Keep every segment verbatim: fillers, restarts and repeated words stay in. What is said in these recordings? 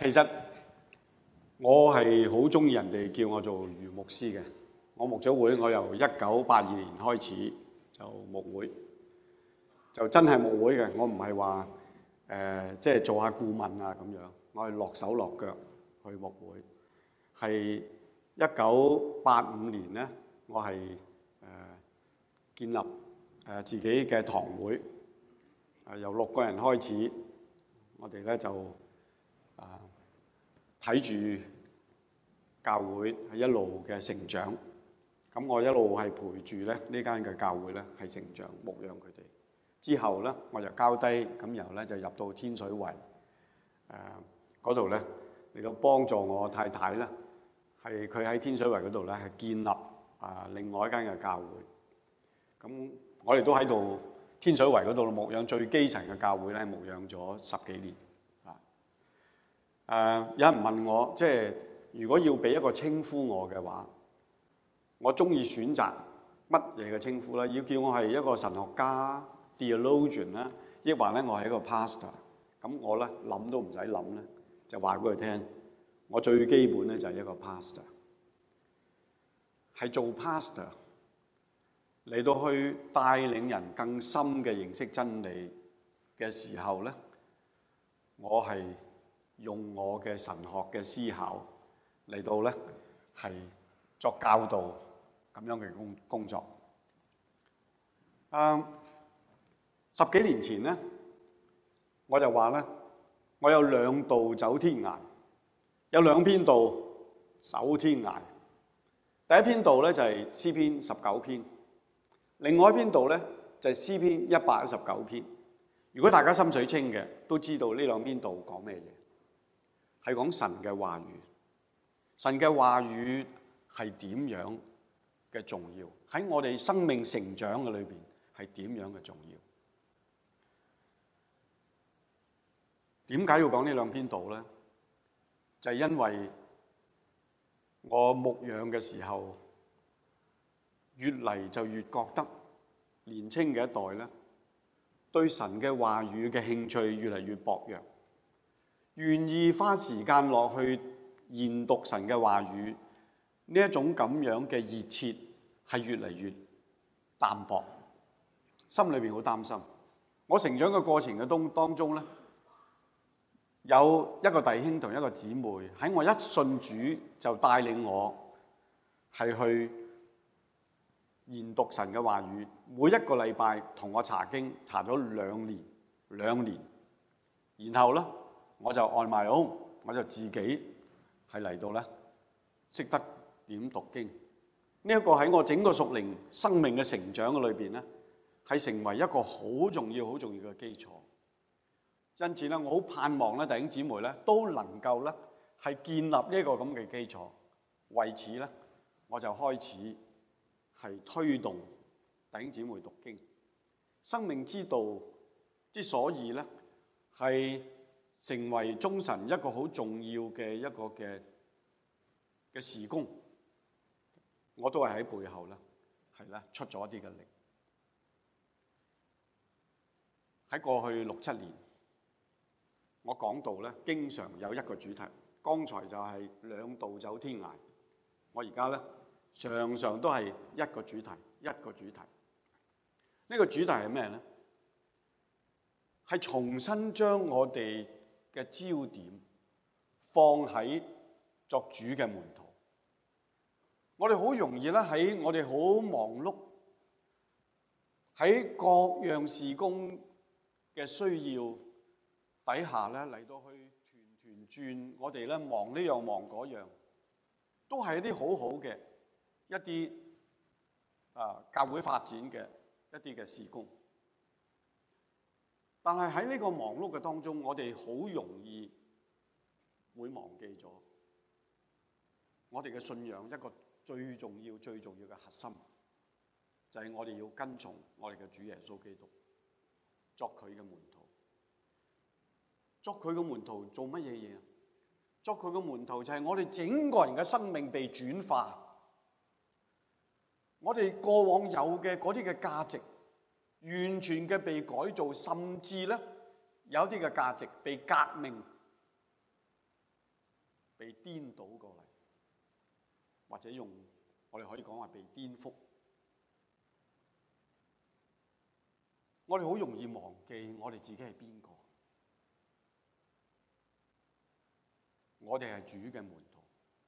其實我係好中意人哋叫我做余牧師嘅。我牧咗會，我由一九八二年開始就牧會，就真係牧會嘅。我唔係話誒即係做下顧問啊咁樣，我係落手落腳去牧會。係一九八五年咧，我係誒、呃、建立誒、呃、自己嘅堂會，誒、呃、由六個人開始，我哋咧就啊睇住教會係一路嘅成長。咁我一路係陪住咧呢間嘅教會咧係成長牧養佢哋。之後咧我就交低，咁然後咧就入到天水圍誒嗰度咧嚟到幫助我太太咧，係佢喺天水圍嗰度咧係建立啊另外一間嘅教會。咁我哋都喺度天水圍嗰度牧養最基層嘅教會咧，牧養咗十幾年啊。誒有人問我，即係如果要俾一個稱呼我嘅話，我中意選擇乜嘢嘅稱呼咧？要叫我係一個神學家 theologian 啦，抑或咧我係一個 pastor。咁我咧諗都唔使諗咧，就話俾佢聽，我最基本咧就係一個 pastor。係做 pastor 嚟到去帶領人更深嘅認識真理嘅時候咧，我係用我嘅神學嘅思考嚟到咧係作教導。咁樣嘅工工作，誒十幾年前咧，我就話咧，我有兩道走天涯，有兩篇道走天涯。第一篇道咧就係詩篇十九篇，另外一篇道咧就係詩篇一百一十九篇。如果大家心水清嘅，都知道呢兩篇道講咩嘢，係講神嘅話語。神嘅話語係點樣嘅重要，喺我哋生命成長嘅裏邊係點樣嘅重要？點解要講呢兩篇道咧？就係因為我牧養嘅時候，越嚟就越覺得年青嘅一代咧，對神嘅話語嘅興趣越嚟越薄弱，願意花時間落去研讀神嘅話語。呢一種咁樣嘅熱切係越嚟越淡薄，心裏邊好擔心。我成長嘅過程嘅當當中咧，有一個弟兄同一個姊妹喺我一信主就帶領我係去研讀神嘅話語，每一個禮拜同我查經，查咗兩年兩年，然後咧我就 on my own，我就自己係嚟到咧識得點讀經。呢一個喺我整個屬靈生命嘅成長嘅裏邊咧，係成為一個好重要、好重要嘅基礎。因此咧，我好盼望咧弟兄姊妹咧都能夠咧係建立呢一個咁嘅基礎。為此咧，我就開始係推動弟兄姊妹讀經。生命之道之所以咧係成為中神一個好重要嘅一個嘅嘅事工，我都係喺背後咧，係咧出咗一啲嘅力。喺過去六七年，我講道咧，經常有一個主題。剛才就係兩道走天涯，我而家咧常常都係一個主題，一個主題。呢個主題係咩咧？係重新將我哋嘅焦點放喺作主嘅門徒。我哋好容易咧喺我哋好忙碌，喺各樣事工嘅需要底下咧嚟到去團團轉，我哋咧忙呢樣忙嗰樣，都係一啲好好嘅一啲啊教會發展嘅一啲嘅事工。但係喺呢個忙碌嘅當中，我哋好容易會忘記咗我哋嘅信仰一個最重要、最重要嘅核心，就係我哋要跟從我哋嘅主耶穌基督，作佢嘅門徒。作佢嘅門徒做乜嘢嘢？作佢嘅門徒就係我哋整個人嘅生命被轉化，我哋過往有嘅嗰啲嘅價值完全嘅被改造，甚至咧有啲嘅價值被革命， 被顛倒過嚟，或者用我哋可以講話被顛覆。我哋好容易忘記我哋自己係邊個。我哋係主嘅門徒，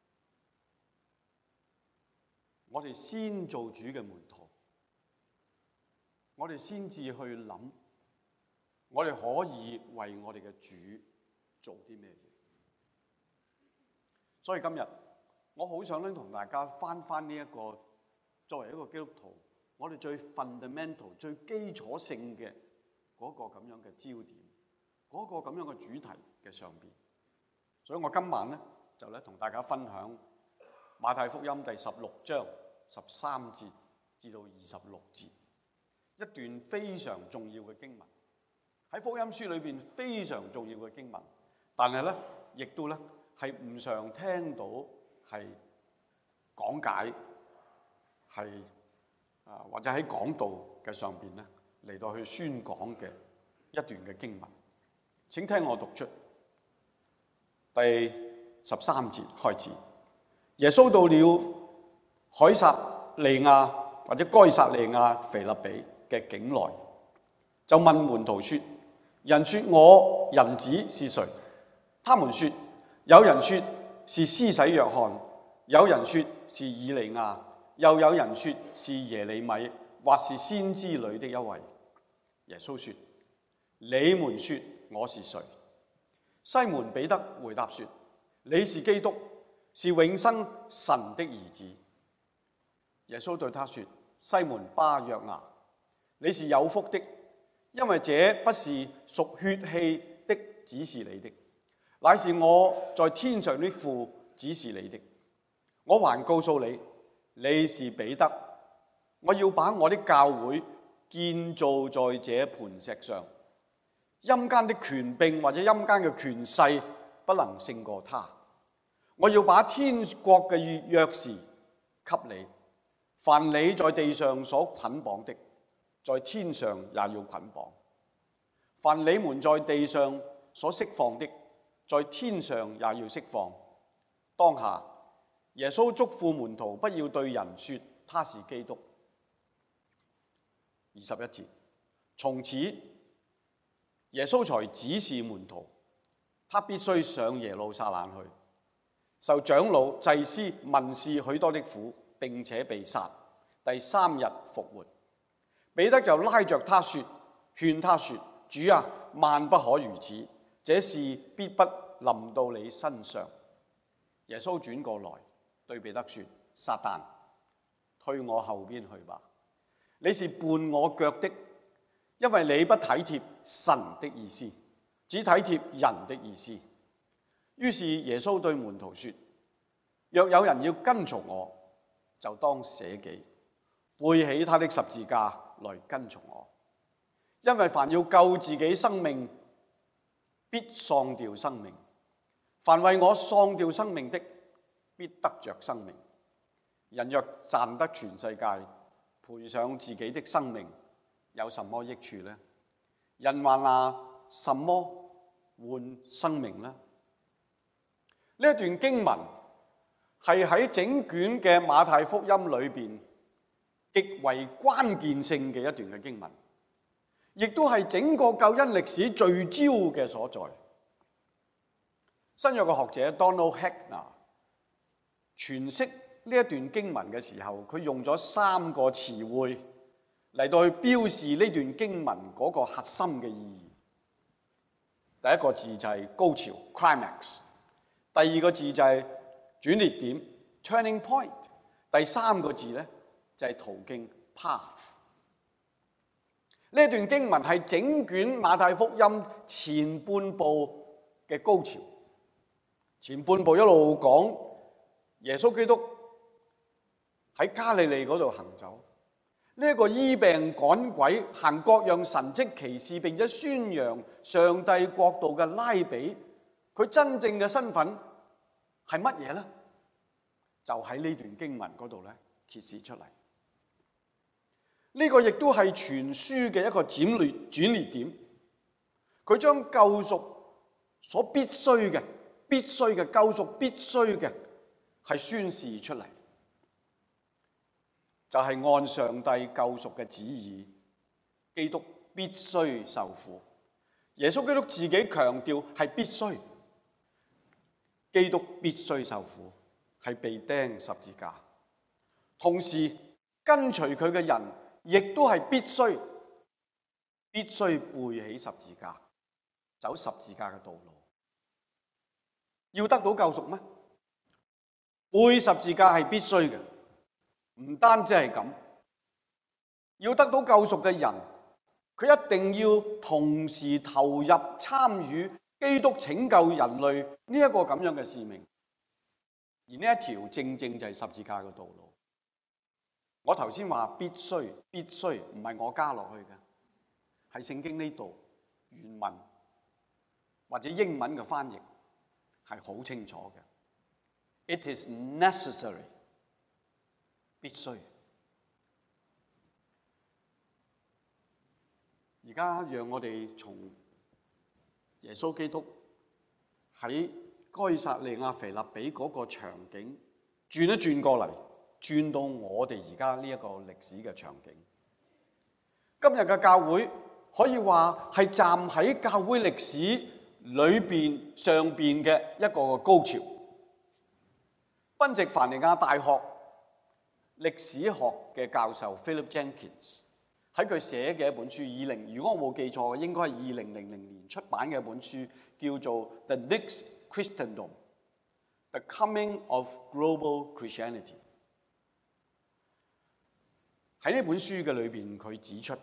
我哋先做主嘅門徒，我哋先至去諗，我哋可以為我哋嘅主做啲咩嘢。所以今日我好想咧同大家翻翻呢一個作為一個基督徒，我哋最 fundamental 最基礎性嘅嗰個咁樣嘅焦點，嗰個咁樣嘅主題嘅上邊。所以我今晚咧就咧同大家分享馬太福音第十六章十三節至到二十六節，一段非常重要嘅經文，喺福音書裏邊非常重要嘅經文，但係咧亦都咧係唔常聽到係講解，係啊或者喺講道嘅上邊咧嚟到去宣講嘅一段嘅經文。請聽我讀出第十三節開始。耶穌到了凱撒利亞或者該撒利亞腓立比嘅境內，就問門徒說：人說我人子是誰？他們說：有人說是施洗約翰，有人說是以利亞，又有人說是耶利米，或是先知裏的一位。耶穌說：你們說我是誰？西門彼得回答說：你是基督，是永生神的兒子。耶穌對他說：西門巴約拿，你是有福的，因為這不是屬血氣的指示你的，乃是我在天上的父指示你的。我還告訴你，你是彼得，我要把我的教會建造在這磐石上，陰間的權柄或者陰間嘅權勢不能勝過他。我要把天國嘅鑰匙給你，凡你在地上所捆綁的，在天上也要捆綁；凡你們在地上所釋放的，在天上也要釋放。當下耶穌囑咐門徒不要對人說他是基督。二十一節，從此耶穌才指示門徒，他必須上耶路撒冷去，受長老、祭司、文士許多的苦，並且被殺，第三日復活。彼得就拉着他說，勸他說：主啊，萬不可如此，這事必不臨到你身上。耶穌轉過來對彼得說：撒旦，退我後邊去吧，你是絆我腳的，因為你不體貼神的意思，只體貼人的意思。於是耶穌對門徒說：若有人要跟從我，就當捨己，背起他的十字架來跟從我。因為凡要救自己生命，必喪掉生命；凡為我喪掉生命的，必得着生命。人若賺得全世界，賠上自己的生命，有什麼益處呢？人還拿什麼換生命呢？呢一段經文係喺整卷嘅馬太福音裏邊極為關鍵性嘅一段嘅經文，亦都係整個救恩歷史聚焦嘅所在。新約嘅學者 Donald Hegner 詮釋呢一段經文嘅時候，佢用咗三個詞彙嚟到去標示呢段經文嗰個核心嘅意義。第一個字就係高潮 climax， 第二個字就係轉捩點 turning point， 第三個字咧就係途徑 path。呢一段經文係整卷馬太福音前半部嘅高潮，前半部一路講耶穌基督喺加利利嗰度行走。呢一個醫病趕鬼、行各樣神蹟奇事，並且宣揚上帝國度嘅拉比，佢真正嘅身份係乜嘢呢？就喺呢段經文嗰度咧揭示出嚟。呢個亦都係全書嘅一個轉捩轉捩點。佢將救贖所必須嘅、 必須嘅救贖，必須嘅係宣示出嚟，就係按上帝救贖嘅旨意，基督必須受苦。耶穌基督自己強調係必須，基督必須受苦，係被釘十字架。同時跟隨佢嘅人，亦都係必須，必須背起十字架，走十字架嘅道路。要得到救贖咩？背十字架係必須嘅，唔單止係咁，要得到救贖嘅人，佢一定要同時投入參與基督拯救人類呢一個咁樣嘅使命。而呢一條正正就係十字架嘅道路。我頭先話必須，必須唔係我加落去嘅，係聖經呢度原文或者英文嘅翻譯係好清楚嘅。It is necessary， 必須。而家讓我哋從耶穌基督喺該撒利亞腓立比嗰個場景轉一轉過嚟，轉到我哋而家呢一個歷史嘅場景。今日嘅教會可以話係站喺教會歷史裏邊上邊嘅一個高潮。賓夕凡尼亞大學歷史學嘅教授 Philip Jenkins 喺佢寫嘅一本書，二零如果我冇記錯，應該係二零零零年出版嘅一本書，叫做《The Next Christendom: The Coming of Global Christianity》。喺呢本書嘅裏邊，佢指出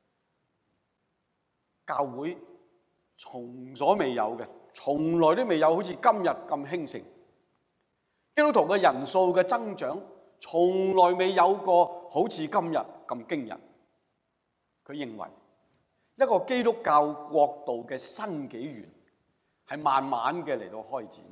教會從所未有嘅，從來都未有好似今日咁興盛。基督徒嘅人數嘅增長，從來未有過好似今日咁驚人。佢認為一個基督教國度嘅新紀元係慢慢嘅嚟到開展，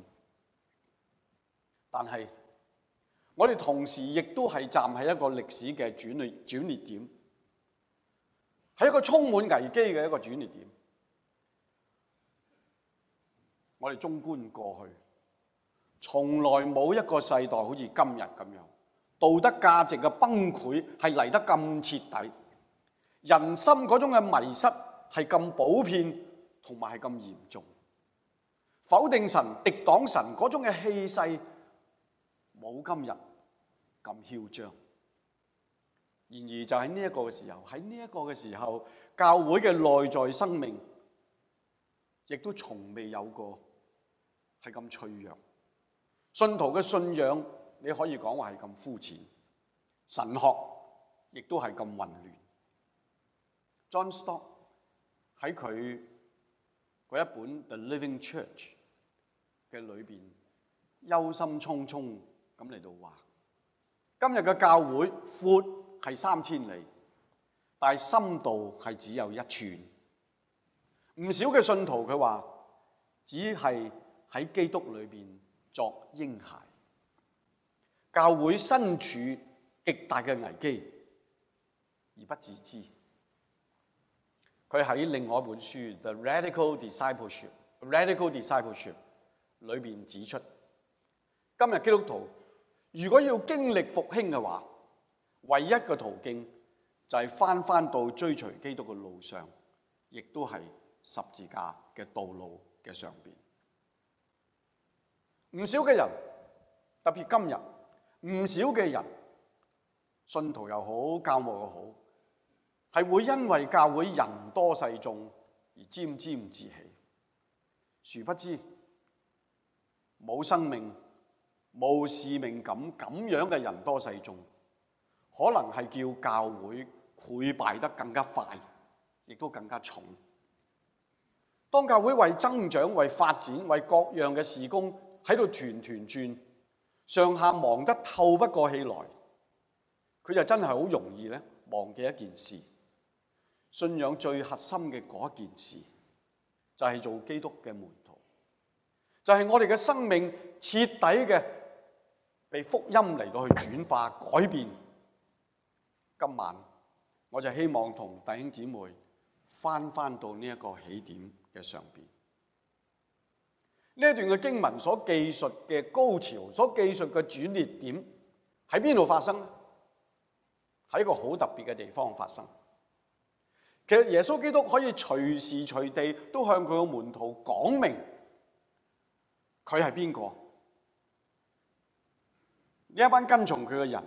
但係我哋同時亦都係站喺一個歷史嘅轉捩轉捩點，係一個充滿危機嘅一個轉捩點。我哋綜觀過去，從來冇一個世代好似今日咁樣，道德價值嘅崩潰係嚟得咁徹底，人心嗰種嘅迷失係咁普遍，同埋係咁嚴重。否定神、敵擋神嗰種嘅氣勢冇今日咁囂張。然而就喺呢一個嘅時候，喺呢一個嘅時候，教會嘅內在生命亦都從未有過係咁脆弱。信徒嘅信仰你可以講話係咁膚淺，神學亦都係咁混亂。John Stott 喺佢嗰一本《The Living Church》嘅裏邊，憂心忡忡咁嚟到話：今日嘅教會闊係三千里，但係深度係只有一寸。唔少嘅信徒佢話，只係喺基督裏邊作嬰孩。教會身處極大嘅危機而不自知。佢喺另外一本書《The Radical Discipleship》Radical Discipleship 裏邊指出，今日基督徒如果要經歷復興嘅話，唯一嘅途徑就係返返到追隨基督嘅路上，亦都係十字架嘅道路嘅上邊。唔少嘅人，特別今日，唔少嘅人，信徒又好，教牧又好，係會因為教會人多勢眾而沾沾自喜。殊不知，冇生命、冇使命感咁樣嘅人多勢眾，可能係叫教會潰敗得更加快，亦都更加重。當教會為增長、為發展、為各樣嘅事工喺度團團轉，上下忙得透不過氣來，佢就真係好容易咧忘記一件事。信仰最核心嘅嗰一件事，就係做基督嘅門徒，就係我哋嘅生命徹底嘅被福音嚟到去轉化改變。今晚我就希望同弟兄姊妹翻翻到呢一個起點嘅上邊。 呢一段嘅經文所記述嘅高潮，所記述嘅轉捩點喺邊度發生呢？喺一個好特別嘅地方發生。其實耶穌基督可以隨時隨地都向佢嘅門徒講明佢係邊個，呢一班跟從佢嘅人，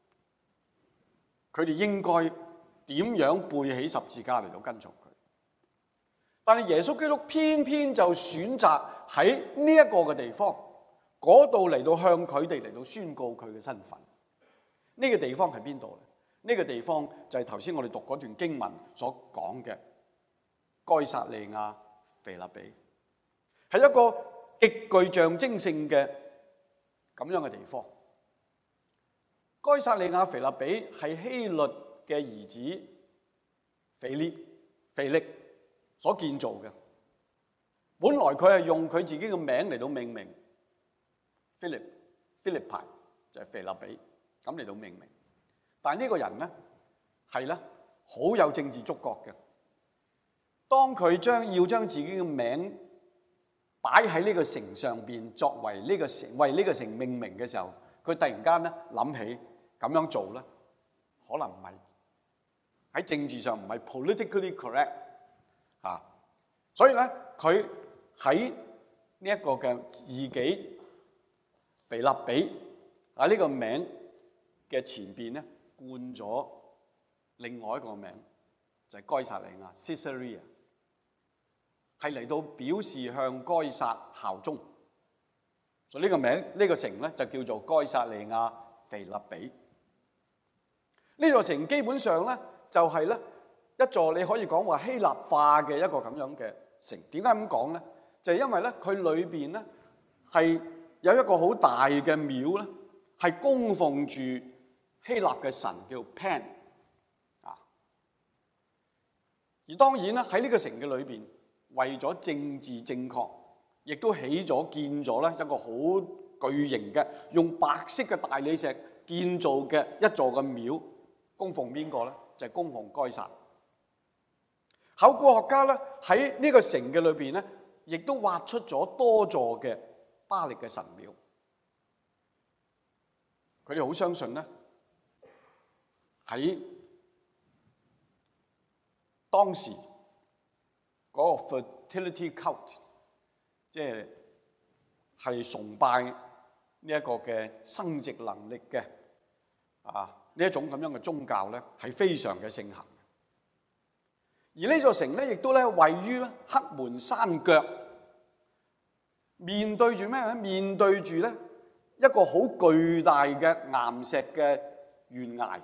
佢哋應該點樣背起十字架嚟到跟從佢。但係耶穌基督偏偏就選擇喺呢一個嘅地方嗰度嚟到向佢哋嚟到宣告佢嘅身份。呢個地方係邊度咧？呢個地方就係頭先我哋讀嗰段經文所講嘅該撒利亞腓立比，係一個極具象徵性嘅咁樣嘅地方。該撒利亞腓立比係希律嘅兒子腓力腓力所建造嘅。本來佢係用佢自己嘅名嚟到命名 Philip Philippi 就係腓立比咁嚟到命名。但係呢個人咧係咧好有政治觸覺嘅。當佢將要將自己嘅名擺喺呢個城上邊，作為呢個城為呢個城命名嘅時候，佢突然間咧諗起咁樣做咧，可能唔係喺政治上唔係 politically correct 啊，所以咧佢喺呢一個嘅自己腓立比喺呢個名嘅前邊咧，冠咗另外一個名，就係該撒利亞 Caesarea， 係嚟到表示向該撒效忠。所以呢個名呢個城咧就叫做該撒利亞腓立比。呢座城基本上咧就係咧一座你可以講話希臘化嘅一個咁樣嘅城。點解咁講咧？就係因為咧佢裏邊咧係有一個好大嘅廟咧，係供奉住希臘嘅神叫 Pan 啊。而當然啦，喺呢個城嘅裏邊，為咗政治正確，亦都起咗建咗咧一個好巨型嘅用白色嘅大理石建造嘅一座嘅廟，供奉邊個咧？就係供奉該撒。考古學家咧喺呢個城嘅裏邊咧，亦都挖出咗多座嘅巴力嘅神廟。佢哋好相信咧，喺當時嗰個 fertility cult， 即係係崇拜呢一個嘅生殖能力嘅啊呢一種咁樣嘅宗教咧，係非常嘅盛行。而呢座城咧，亦都咧位於咧黑門山腳，面對住咩咧？面對住咧一個好巨大嘅岩石嘅懸崖。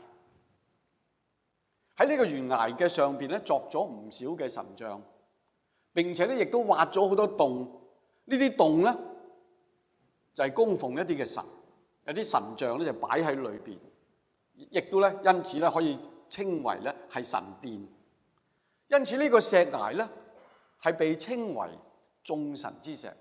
喺呢個懸崖嘅上邊咧，作咗唔少嘅神像，並且咧亦都挖咗好多洞。呢啲洞咧就係供奉一啲嘅神，有啲神像咧就擺喺裏邊，亦都咧因此咧可以稱為咧係神殿。因此呢個石崖咧係被稱為眾神之石。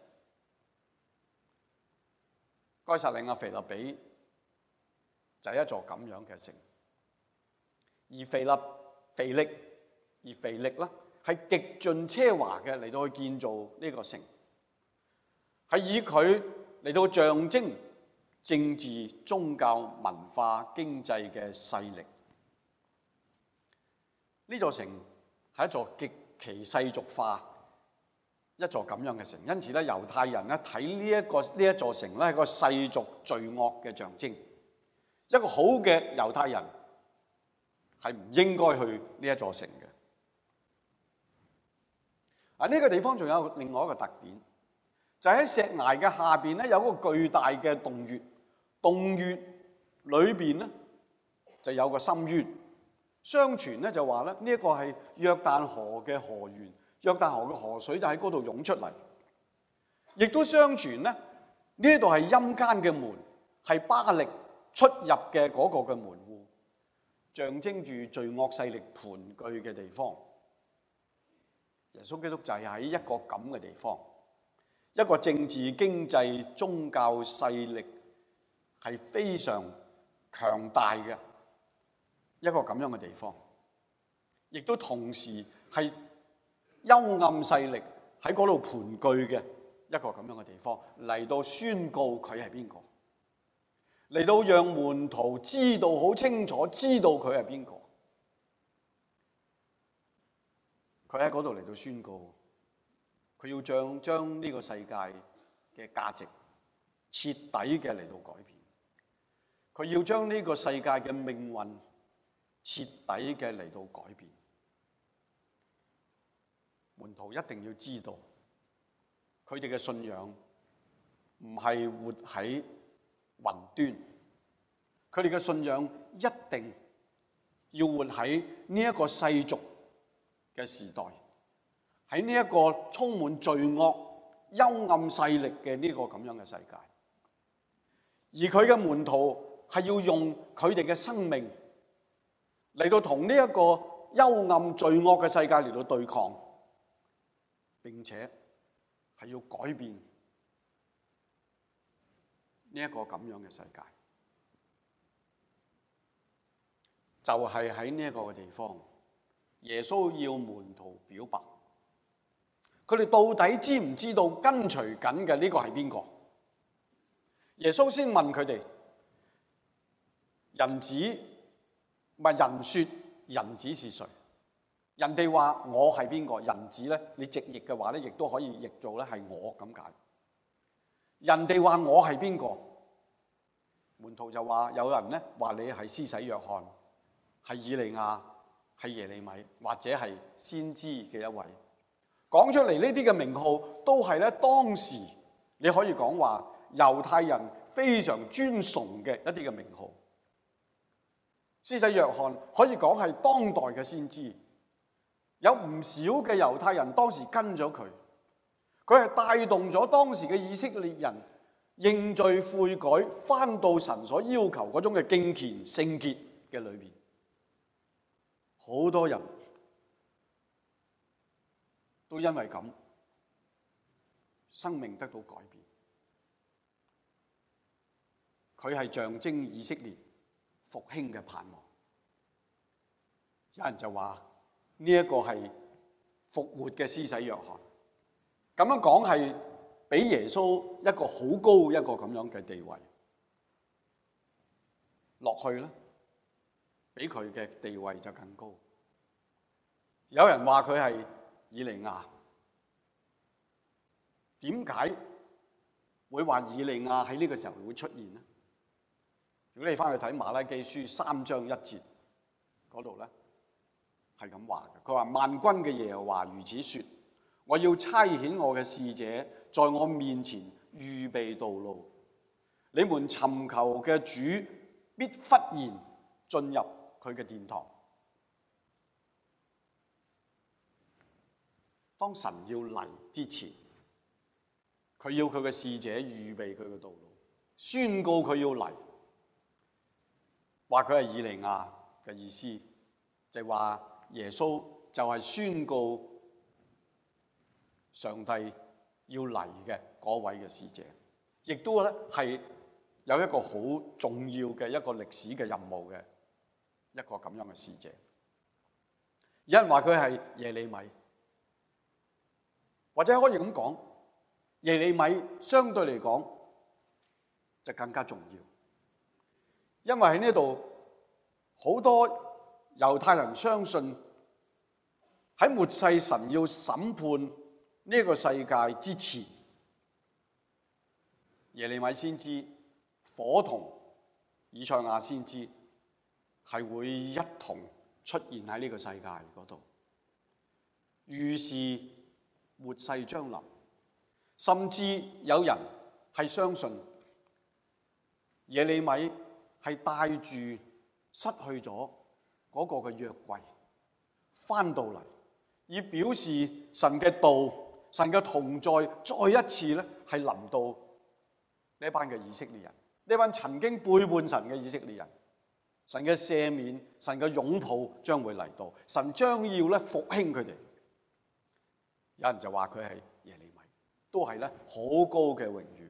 該撒利亞腓立比就係一座咁樣嘅城，而腓立腓力而腓力咧係極盡奢華嘅嚟到去建造呢個城，係以佢嚟到象徵政治、宗教、文化、經濟嘅勢力。呢座城係一座極其世俗化一座咁樣嘅城，因此咧猶太人咧睇呢一個呢一座城咧係一個世俗罪惡嘅象徵。一個好嘅猶太人係唔應該去呢一座城嘅。啊，呢個地方仲有另外一個特點，就係喺石崖嘅下邊咧有一個巨大嘅洞穴，洞穴裏邊咧就有個深淵。相傳咧就話咧呢一個係約旦河嘅河源，約旦河嘅河水就喺嗰度湧出嚟。亦都相傳咧呢度係陰間嘅門，係巴力出入嘅嗰個嘅門戶，象徵住罪惡勢力盤踞嘅地方。耶穌基督就係喺一個咁嘅地方，一個政治、經濟、宗教勢力係非常強大嘅一個咁樣嘅地方，亦都同時係幽暗勢力喺嗰度盤踞嘅一個咁樣嘅地方，嚟到宣告佢係邊個，嚟到讓門徒知道好清楚，知道佢係邊個。佢喺嗰度嚟到宣告，佢要將將呢個世界嘅價值徹底嘅嚟到改變，佢要將呢個世界嘅命運徹底嘅嚟到改變。門徒一定要知道，佢哋嘅信仰唔係活喺雲端，佢哋嘅信仰一定要活喺呢一個世俗嘅時代，喺呢一個充滿罪惡、幽暗勢力嘅呢個咁樣嘅世界。而佢嘅門徒係要用佢哋嘅生命嚟到同呢一個幽暗罪惡嘅世界嚟到對抗，並且係要改變呢一個咁樣嘅世界。就係喺呢一個嘅地方，耶穌要門徒表白，佢哋到底知唔知道跟隨緊嘅呢個係邊個？耶穌先問佢哋：人子唔係人說人子是誰？人哋話我係邊個？人子咧，你直譯嘅話咧，亦都可以譯做咧係我咁解。人哋話我係邊個？門徒就話有人咧話你係施洗約翰，係以利亞，係耶利米，或者係先知嘅一位。講出嚟呢啲嘅名號都係咧當時你可以講話猶太人非常尊崇嘅一啲嘅名號。施洗約翰可以講係當代嘅先知。有唔少嘅猶太人當時跟咗佢，佢係帶動咗當時嘅以色列人認罪悔改，返到神所要求嗰種嘅敬虔聖潔嘅裏面。好多人都因為咁，生命得到改變。佢係象徵以色列復興嘅盼望。有人就話，呢一個係復活嘅施洗約翰，咁樣講係俾耶穌一個好高一個咁樣嘅地位落去咧，比佢嘅地位就更高。有人話佢係以利亞，點解會話以利亞喺呢個時候會出現呢？如果你翻去睇馬拉基書三章一節嗰度咧，係咁話嘅，佢話萬軍嘅耶和華如此說：我要差遣我嘅使者在我面前預備道路，你們尋求嘅主必忽然進入佢嘅殿堂。當神要嚟之前，佢要佢嘅使者預備佢嘅道路，宣告佢要嚟。話佢係以利亞嘅意思，就係話耶穌就係宣告上帝要嚟嘅嗰位嘅使者，亦都咧係有一個好重要嘅一個歷史嘅任務嘅一個咁樣嘅使者。有人話佢係耶利米，或者可以咁講，耶利米相對嚟講就更加重要，因為喺呢度好多猶太人相信喺末世神要審判呢個世界之前，耶利米先知夥同以賽亞先知係會一同出現喺呢個世界嗰度，預示末世將臨。甚至有人係相信耶利米係帶住失去咗嗰個嘅約櫃翻到嚟，以表示神嘅道、神嘅同在再一次咧係臨到呢班嘅以色列人，呢班曾經背叛神嘅以色列人。神嘅赦免、神嘅擁抱將會嚟到，神將要咧復興佢哋。有人就話佢係耶利米，都係咧好高嘅榮譽。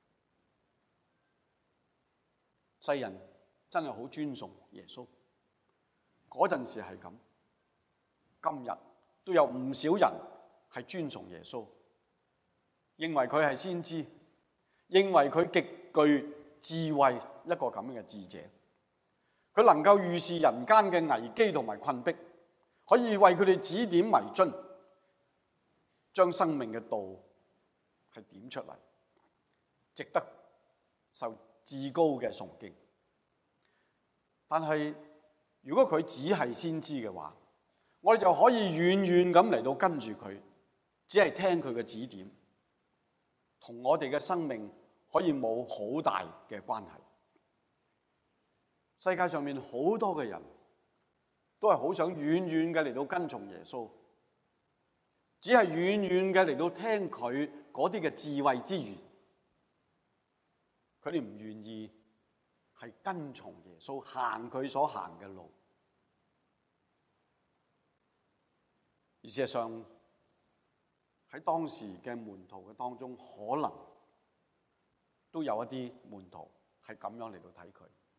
世人真係好尊崇耶穌，嗰陣時係咁，今日都有唔少人係尊崇耶穌。 認為佢係先知，認為佢極具智慧，一個咁樣嘅智者。佢能夠預示人間嘅危機同埋困迫，可以為佢哋指點迷津，將生命嘅道係點出嚟，值得受至高嘅崇敬。但係如果佢只係先知嘅話，我哋就可以遠遠咁嚟到跟住佢，只係聽佢嘅指點，同我哋嘅生命可以冇好大嘅關係。世界上面好多嘅人都係好想遠遠嘅嚟到跟從耶穌，只係遠遠嘅嚟到聽佢嗰啲嘅智慧之言，佢哋唔願意係跟從耶穌，行佢所行嘅路。而事實上喺當時嘅門徒嘅當中，可能都有一啲門徒係咁樣嚟到睇佢。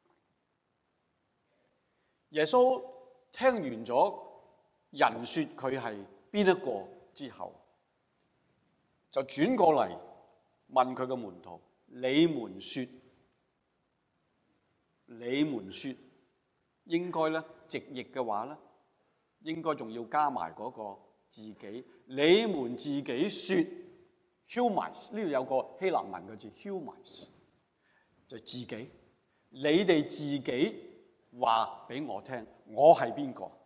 耶穌聽完咗人說佢係邊一個之後，就轉過嚟問佢嘅門徒：你們說，你們說，應該咧直譯嘅話咧，應該仲要加埋嗰個自己。你們自己說 ，humus 呢度有個希臘文嘅字 humus， 就自己，你哋自己。話俾我聽，我係邊個？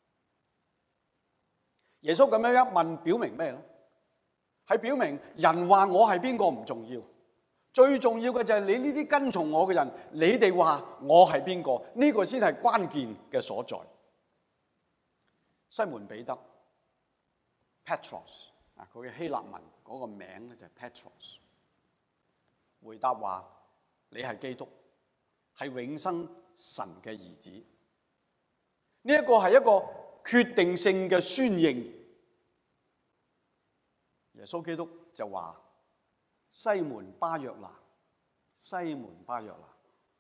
耶穌咁樣一問，表明咩咧？係表明人話我係邊個唔重要，最重要嘅就係你呢啲跟從我嘅人，你哋話我係邊個？呢個先係關鍵嘅所在。西門彼得 Petros 啊，佢嘅希臘文嗰個名咧就係 Petros， 回答話：你係基督，係永生神嘅兒子。呢一個係一個決定性嘅宣認。耶穌基督就話：西門巴約拿，西門巴約拿，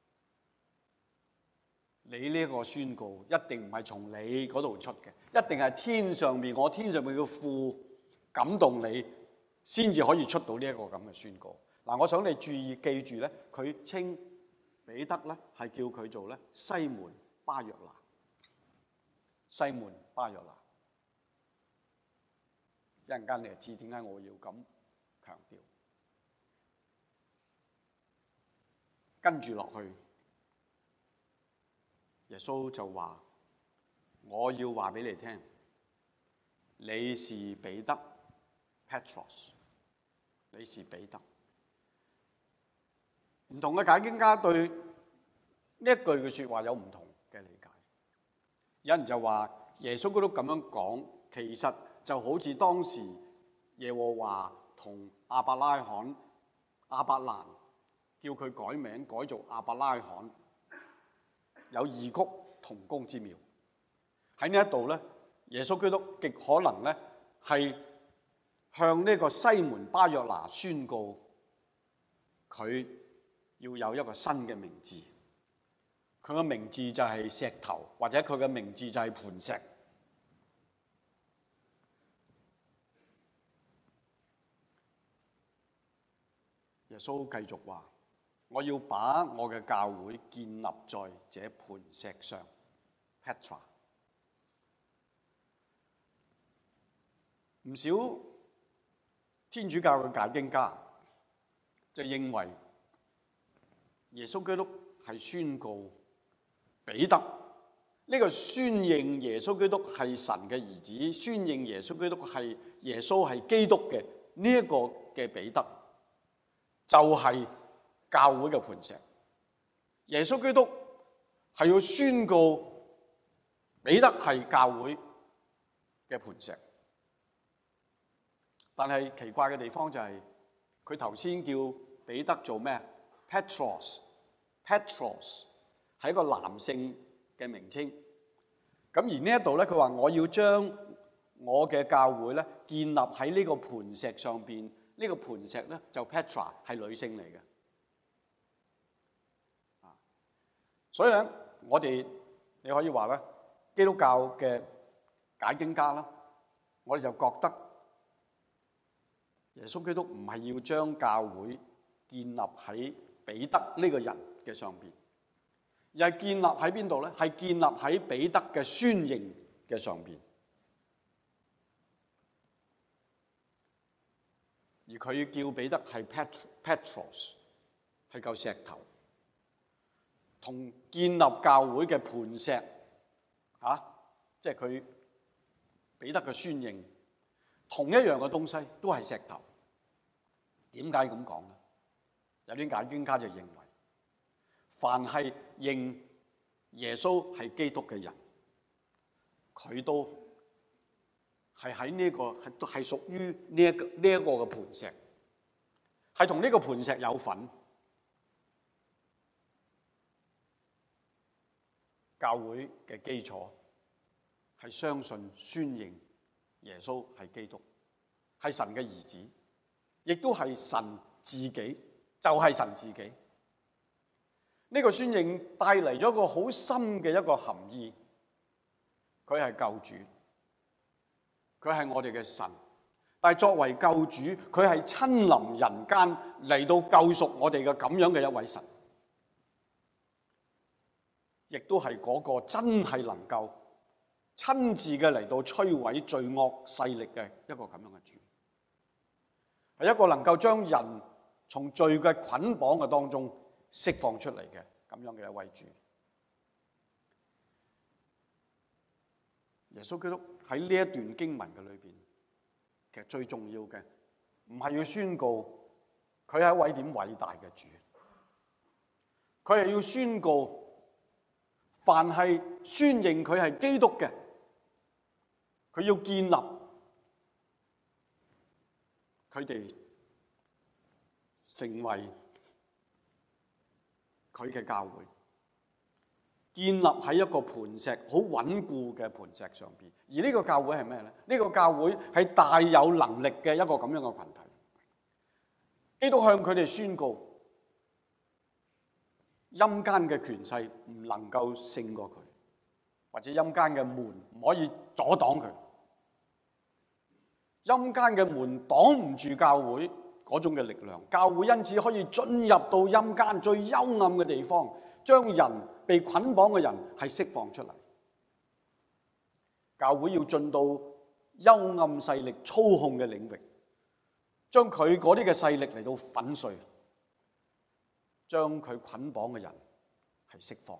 你呢個宣告一定唔係從你嗰度出嘅，一定係天上面我天上面嘅父感動你，先至可以出到呢一個咁嘅宣告。嗱，我想你注意記住咧，佢稱彼得咧係叫佢做咧西門巴約拿，西門巴約拿。一陣間你就知點解我要咁強調。跟住落去，耶穌就話：我要話俾你聽，你是彼得 Petros， 你是彼得。唔同嘅解經家對呢一句嘅説話有唔同嘅理解。有人就話耶穌基督咁樣講，其實就好似當時耶和華同亞伯拉罕、亞伯蘭叫佢改名改做亞伯拉罕，有異曲同工之妙。喺呢一度咧，耶穌基督極可能咧係向呢個西門巴約拿宣告佢要有一個新嘅名字，佢嘅名字就係石頭，或者佢嘅名字就係磐石。耶穌繼續話：我要把我嘅教會建立在這磐石上 Petra。唔少天主教嘅解經家就認為耶穌基督係宣告彼得呢個宣認耶穌基督係神嘅兒子，宣認耶穌基督係耶穌係基督嘅呢一個嘅彼得，就係教會嘅磐石。耶穌基督係要宣告彼得係教會嘅磐石。但係奇怪嘅地方就係佢頭先叫彼得做咩？Petros，Petros 係一個男性嘅名稱。咁而呢一度咧，佢話我要將我嘅教會咧建立喺呢個磐石上邊。呢個磐石咧就 Petra 係女性嚟嘅。啊，所以咧我哋你可以話咧，基督教嘅解經家啦，我哋就覺得耶穌基督唔係要將教會建立喺彼得呢個人嘅上邊，而係建立喺邊度咧？係建立喺彼得嘅宣認嘅上邊。而佢叫彼得係 Petros， 係嚿石頭，同建立教會嘅磐石啊，即係佢彼得嘅宣認，同一樣嘅東西都係石頭。點解咁講咧？有啲解經家就認為，凡係認耶穌係基督嘅人，佢都係喺呢個係係屬於呢一個呢一個嘅磐石，係同呢個磐石有份。教會嘅基礎係相信宣認耶穌係基督，係神嘅兒子，亦都係神自己，就係神自己。呢個宣認帶嚟咗一個好深嘅一個含義，佢係救主。佢係我哋嘅神，但係作為救主，佢係親臨人間嚟到救贖我哋嘅咁樣嘅一位神，亦都係嗰個真係能夠親自嘅嚟到摧毀罪惡勢力嘅一個咁樣嘅主，係一個能夠將人從罪嘅捆綁嘅當中釋放出嚟嘅咁樣嘅一位主。耶穌基督喺呢一段經文嘅裏邊，其實最重要嘅唔係要宣告佢係一位點偉大嘅主，佢係要宣告凡係宣認佢係基督嘅，佢要建立佢哋成為佢嘅教會，建立喺一個磐石好穩固嘅磐石上邊。而呢個教會係咩咧？呢個教會係大有能力嘅一個咁樣嘅群體。基督向佢哋宣告，陰間嘅權勢唔能夠勝過佢，或者陰間嘅門唔可以阻擋佢。陰間嘅門擋唔住教會嗰種嘅力量，教會因此可以進入到陰間最幽暗嘅地方，將人被捆綁嘅人係釋放出嚟。教會要進到幽暗勢力操控嘅領域，將佢嗰啲嘅勢力嚟到粉碎，將佢捆綁嘅人係釋放。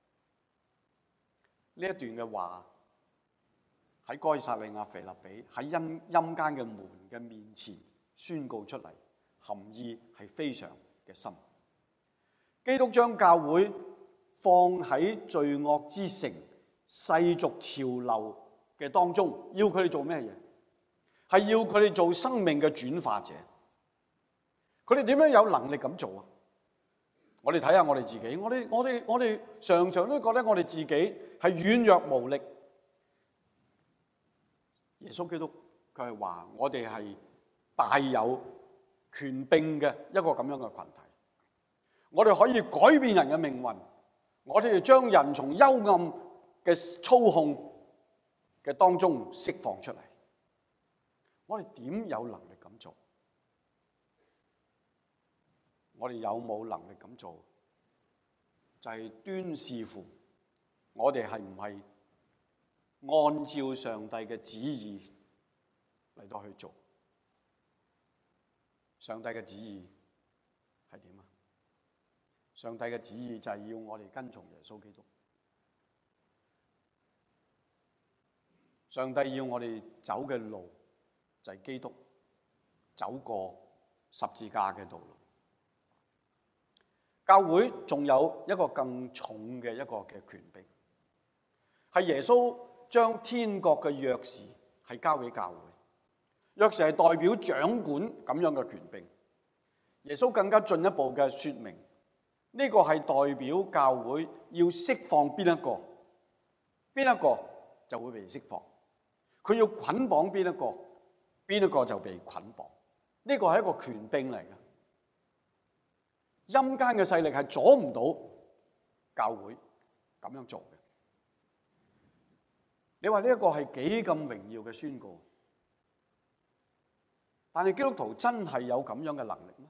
呢一段嘅話喺該撒利亞腓立比喺陰陰間嘅門嘅面前宣告出嚟，含義係非常嘅深。基督將教會放喺罪惡之城、世俗潮流嘅當中，要佢哋做咩嘢？係要佢哋做生命嘅轉化者。佢哋點樣有能力咁做啊？我哋睇下我哋自己，我哋我哋我哋常常都覺得我哋自己係軟弱無力。耶穌基督佢係話我哋係大有權柄嘅一個咁樣嘅群體，我哋可以改變人嘅命運，我哋將人從幽暗嘅操控嘅當中釋放出嚟。我哋點有能力咁做？我哋有冇能力咁做？就係端視乎我哋係唔係按照上帝嘅旨意嚟到去做。上帝嘅旨意係點啊？上帝嘅旨意就係要我哋跟從耶穌基督。上帝要我哋走嘅路就係基督走過十字架嘅道路。教會仲有一個更重嘅一個嘅權柄，係耶穌將天國嘅鑰匙係交俾教會。鑰匙係代表掌管咁樣嘅權柄。耶穌更加進一步嘅說明，呢個係代表教會要釋放邊一個，邊一個就會被釋放。佢要捆綁邊一個，邊一個就被捆綁。呢個係一個權柄嚟嘅。陰間嘅勢力係阻唔到教會咁樣做嘅。你話呢一個係幾咁榮耀嘅宣告？ 但係基督徒真係有咁樣嘅能力咩？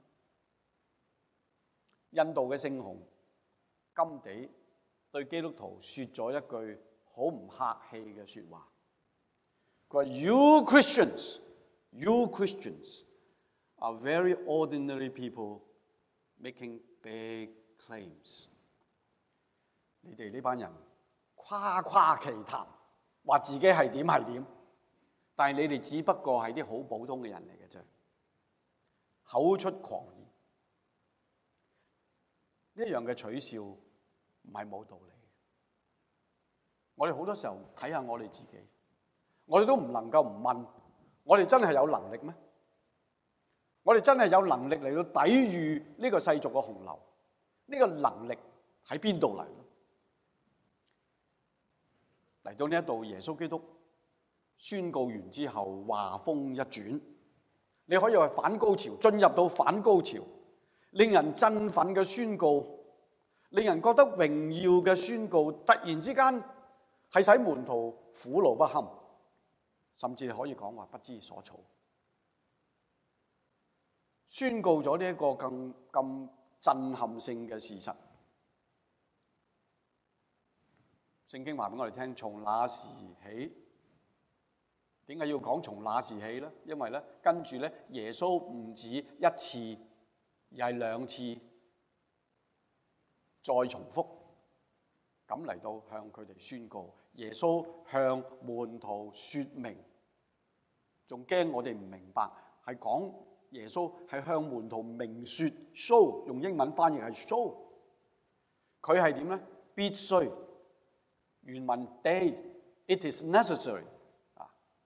印度嘅聖雄甘地對基督徒說咗一句好唔客氣嘅說話，佢話 You Christians, you Christians are very ordinary people making big claims。你哋呢班人誇誇其談，話自己係點係點，但係你哋只不過係啲好普通嘅人嚟嘅啫，口出狂言。呢樣嘅取笑唔係冇道理。我哋好多時候睇下我哋自己，我哋都唔能夠唔問，我哋真係有能力咩？我哋真係有能力嚟到抵禦呢個世俗嘅洪流？呢個能力喺邊度嚟？嚟到呢一度，耶穌基督宣告完之後，話風一轉，你可以話反高潮，進入到反高潮，令人振奮嘅宣告，令人覺得榮耀嘅宣告，突然之間係使門徒苦惱不堪，甚至可以講話不知所措。宣告咗呢一個更咁震撼性嘅事實。聖經話俾我哋聽，從那時起，點解要講從那時起呢？因為咧，跟住咧，耶穌唔止一次，而係兩次再重複咁嚟到向佢哋宣告。耶穌向門徒說明，仲驚我哋唔明白，係講耶穌係向門徒明說 show， 用英文翻譯係 show。佢係點咧？必須。原文 day it is necessary 啊。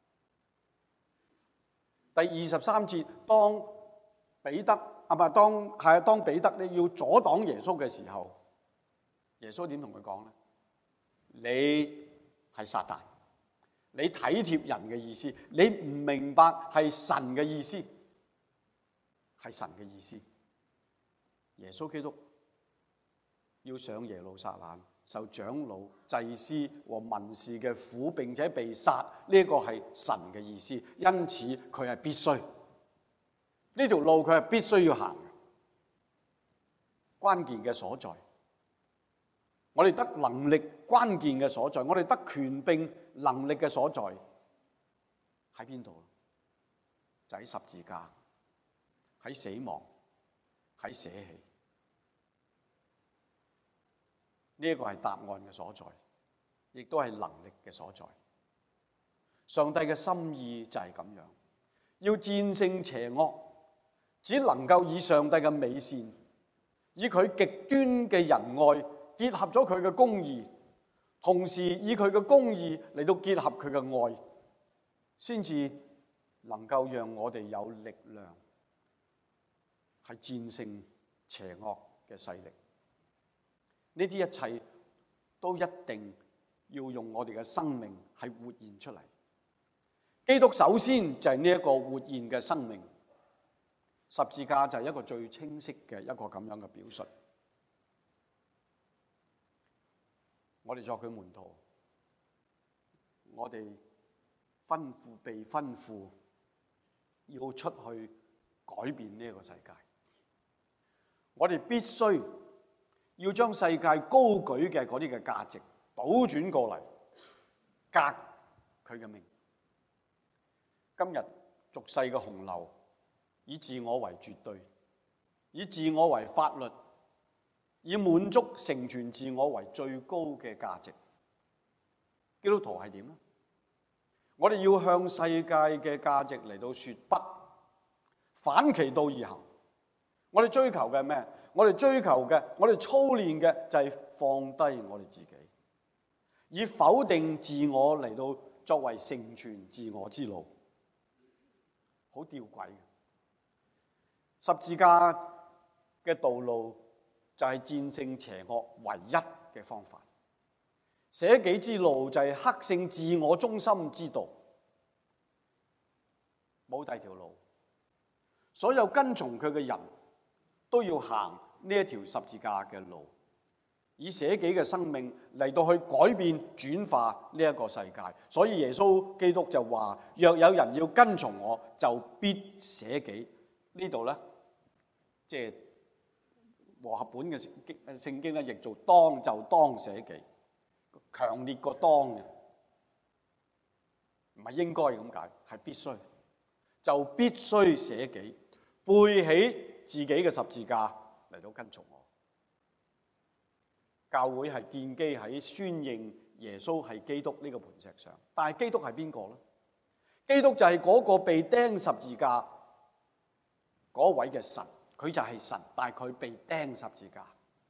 第二十三節，當彼得啊唔係當係啊當彼得咧要阻擋耶穌嘅時候，耶穌點同佢講咧？你係撒旦，你體貼人嘅意思，你唔明白係神嘅意思，係神嘅意思。耶穌基督要上耶路撒冷，受長老、祭司和文士嘅苦，並且被殺，呢個係神嘅意思，因此佢係必須，呢條路佢係必須要行嘅。關鍵嘅所在，我哋得能力關鍵嘅所在，我哋得權柄能力嘅所在喺邊度？就喺十字架，喺死亡，喺捨棄。呢一個係答案嘅所在，亦都係能力嘅所在。上帝嘅心意就係咁樣，要戰勝邪惡，只能夠以上帝嘅美善，以佢極端嘅仁愛結合咗佢嘅公義，同時以佢嘅公義嚟到結合佢嘅愛，先至能夠讓我哋有力量係戰勝邪惡嘅勢力。呢啲一切都一定要用我哋嘅生命係活現出嚟。基督首先就係呢一個活現嘅生命，十字架就係一個最清晰嘅一個咁樣嘅表述。我哋作佢門徒，我哋吩咐被吩咐要出去改變呢一個世界，我哋必須要將世界高舉嘅嗰啲嘅價值倒轉過嚟，革佢嘅命。今日俗世嘅洪流，以自我為絕對，以自我為法律，以滿足成全自我為最高嘅價值。基督徒係點呢？我哋要向世界嘅價值嚟到說不，反其道而行。我哋追求嘅係咩？我哋追求嘅，我哋操練嘅就係放低我哋自己，以否定自我嚟到作為成全自我之路，好吊詭嘅。十字架嘅道路就係戰勝邪惡唯一嘅方法，捨己之路就係克勝自我中心之道，冇第二條路。所有跟從佢嘅人都要行呢一條十字架嘅路， 以捨己嘅生命嚟到去改變轉化呢一個世界。所以耶穌基督就話：若有人要跟從我，就必捨己。呢度咧，即係和合本嘅聖經咧，譯做當就當捨己，強烈過當嘅，唔係應該咁解，係必須，就必須捨己，背起自己嘅十字架嚟到跟從我。教會係建基喺宣認耶穌係基督呢個磐石上，但係基督係邊個咧？基督就係嗰個被釘十字架嗰位嘅神，佢就係神，但係佢被釘十字架。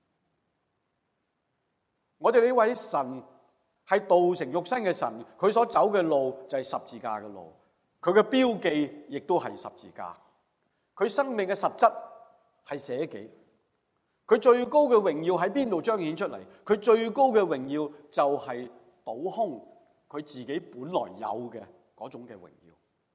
我哋呢位神係道成肉身嘅神，佢所走嘅路就係十字架嘅路，佢嘅標記亦都係十字架。佢生命嘅實質係捨己。佢最高嘅榮耀喺邊度彰顯出嚟？佢最高嘅榮耀就係倒空佢自己本來有嘅嗰種嘅榮耀。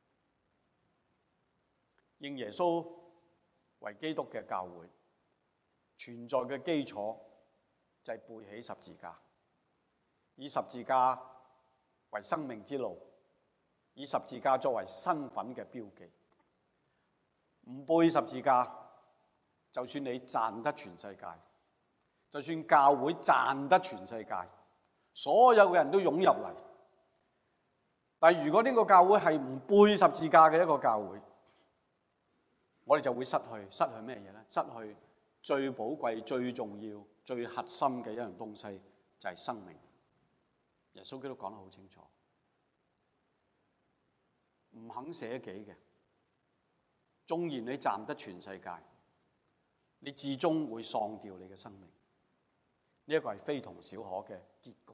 認耶穌為基督嘅教會存在嘅基礎就係背起十字架，以十字架為生命之路，以十字架作為身份嘅標記。唔背十字架，就算你賺得全世界，就算教會賺得全世界，所有嘅人都湧入嚟，但係如果呢個教會係唔背十字架嘅一個教會，我哋就會失去失去咩嘢咧？失去最寶貴、最重要、最核心嘅一樣東西，就係生命。耶穌基督講得好清楚，唔肯捨己嘅，縱然你賺得全世界，你至終會喪掉你嘅生命。呢一個係非同小可嘅結局。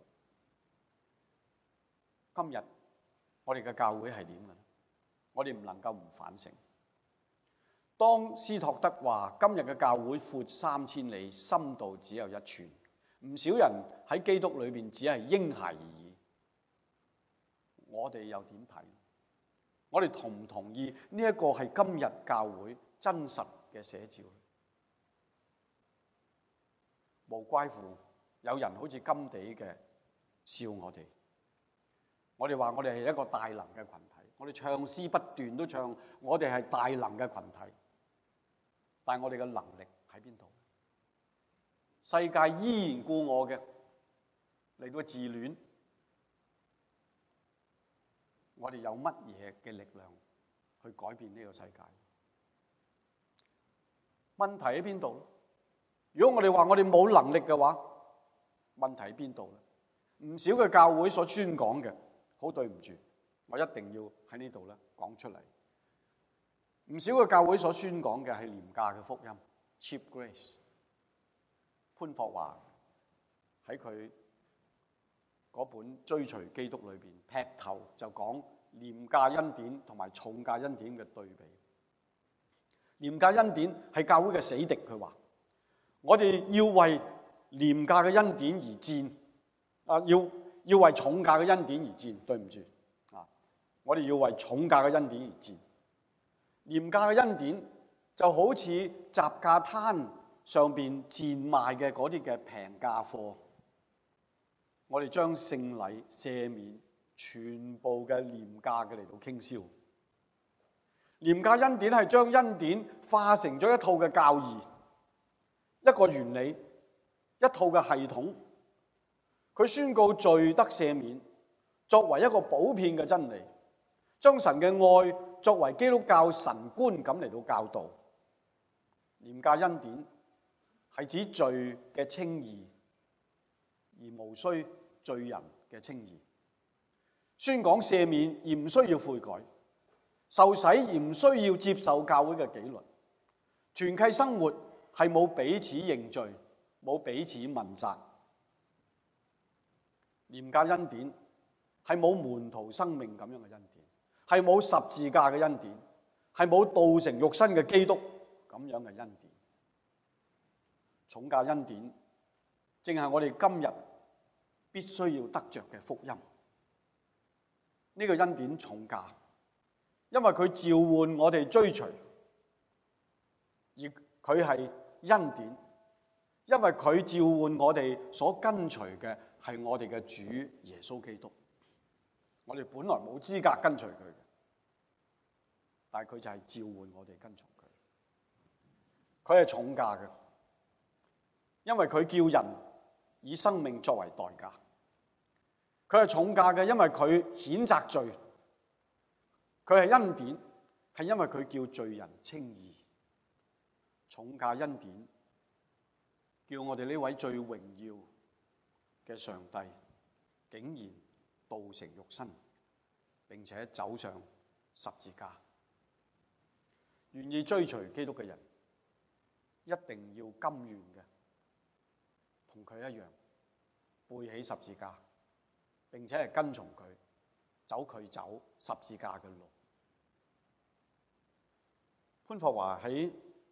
今日我哋嘅教會係點嘅？我哋唔能夠唔反省。當斯托德話今日嘅教會闊三千里，深度只有一寸，唔少人喺基督裏邊只係嬰孩而已。我哋又點睇？我哋同唔同意呢一個係今日教會真實嘅寫照？無怪乎有人好似甘地嘅笑我哋。我哋話我哋係一個大能嘅群體，我哋唱詩不斷都唱，我哋係大能嘅群體。但係我哋嘅能力喺邊度？世界依然故我嘅嚟到自戀，我哋有乜嘢嘅力量去改變呢個世界？問題喺邊度？如果我哋話我哋冇能力嘅話，問題喺邊度咧？唔少嘅教會所宣講嘅，好對唔住，我一定要喺呢度咧講出嚟。唔少嘅教會所宣講嘅係廉價嘅福音 （cheap grace）。潘霍華喺佢嗰本《追隨基督》裏邊劈頭就講廉價恩典同埋重價恩典嘅對比。廉價恩典係教會嘅死敵，佢話我哋要為廉價嘅恩典而戰，啊，要要為重價嘅恩典而戰。對唔住啊，我哋要為重價嘅恩典而戰。廉價嘅恩典就好似雜價攤上邊賤賣嘅嗰啲嘅平價貨，我哋將聖禮赦免全部嘅廉價嘅嚟到傾銷。廉價恩典係將恩典化成咗一套嘅教義，一個原理，一套嘅系統。佢宣告罪得赦免，作為一個普遍嘅真理，將神嘅愛作為基督教神觀咁嚟到教導。廉價恩典係指罪嘅稱義，而無需罪人嘅稱義。宣講赦免而唔需要悔改，受洗而唔需要接受教會嘅紀律。團契生活係冇彼此認罪，冇彼此問責。廉價恩典係冇門徒生命咁樣嘅恩典，係冇十字架嘅恩典，係冇道成肉身嘅基督咁樣嘅恩典。重價恩典正係我哋今日必須要得着嘅福音。呢個恩典重價，因為佢召喚我哋追隨，而佢係恩典， 因為佢召喚我哋所跟隨嘅係我哋嘅主耶穌基督。我哋本來冇資格跟隨佢嘅，但係佢就係召喚我哋跟從佢。佢係重價嘅，因為佢叫人以生命作為代價。佢係重價嘅，因為佢譴責罪。佢係恩典，係因為佢叫罪人稱義。重價恩典，叫我哋呢位最榮耀嘅上帝，竟然道成肉身，並且走上十字架。願意追隨基督嘅人，一定要甘願嘅，同佢一樣背起十字架，並且係跟從佢，走佢走十字架嘅路。潘霍華喺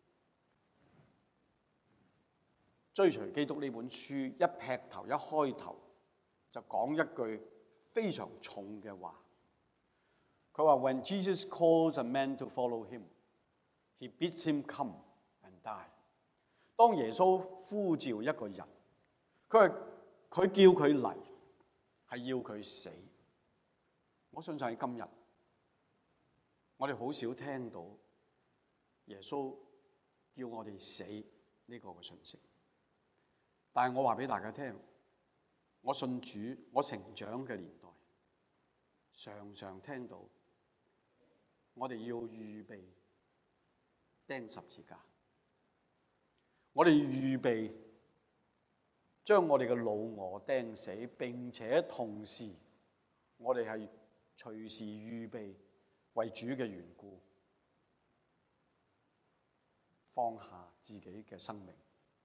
追隨基督呢本書一劈頭一開頭就講一句非常重嘅話，佢話 When Jesus calls a man to follow him, he bids him come and die。當耶穌呼召一個人，佢係佢叫佢嚟，係要佢死。我相信喺今日，我哋好少聽到耶穌叫我哋死呢個嘅訊息。但係我話俾大家聽，我信主，我成長嘅年代，常常聽到我哋要預備釘十字架，我哋預備將我哋嘅老我釘死，並且同時我哋係隨時預備為主嘅緣故放下自己嘅生命。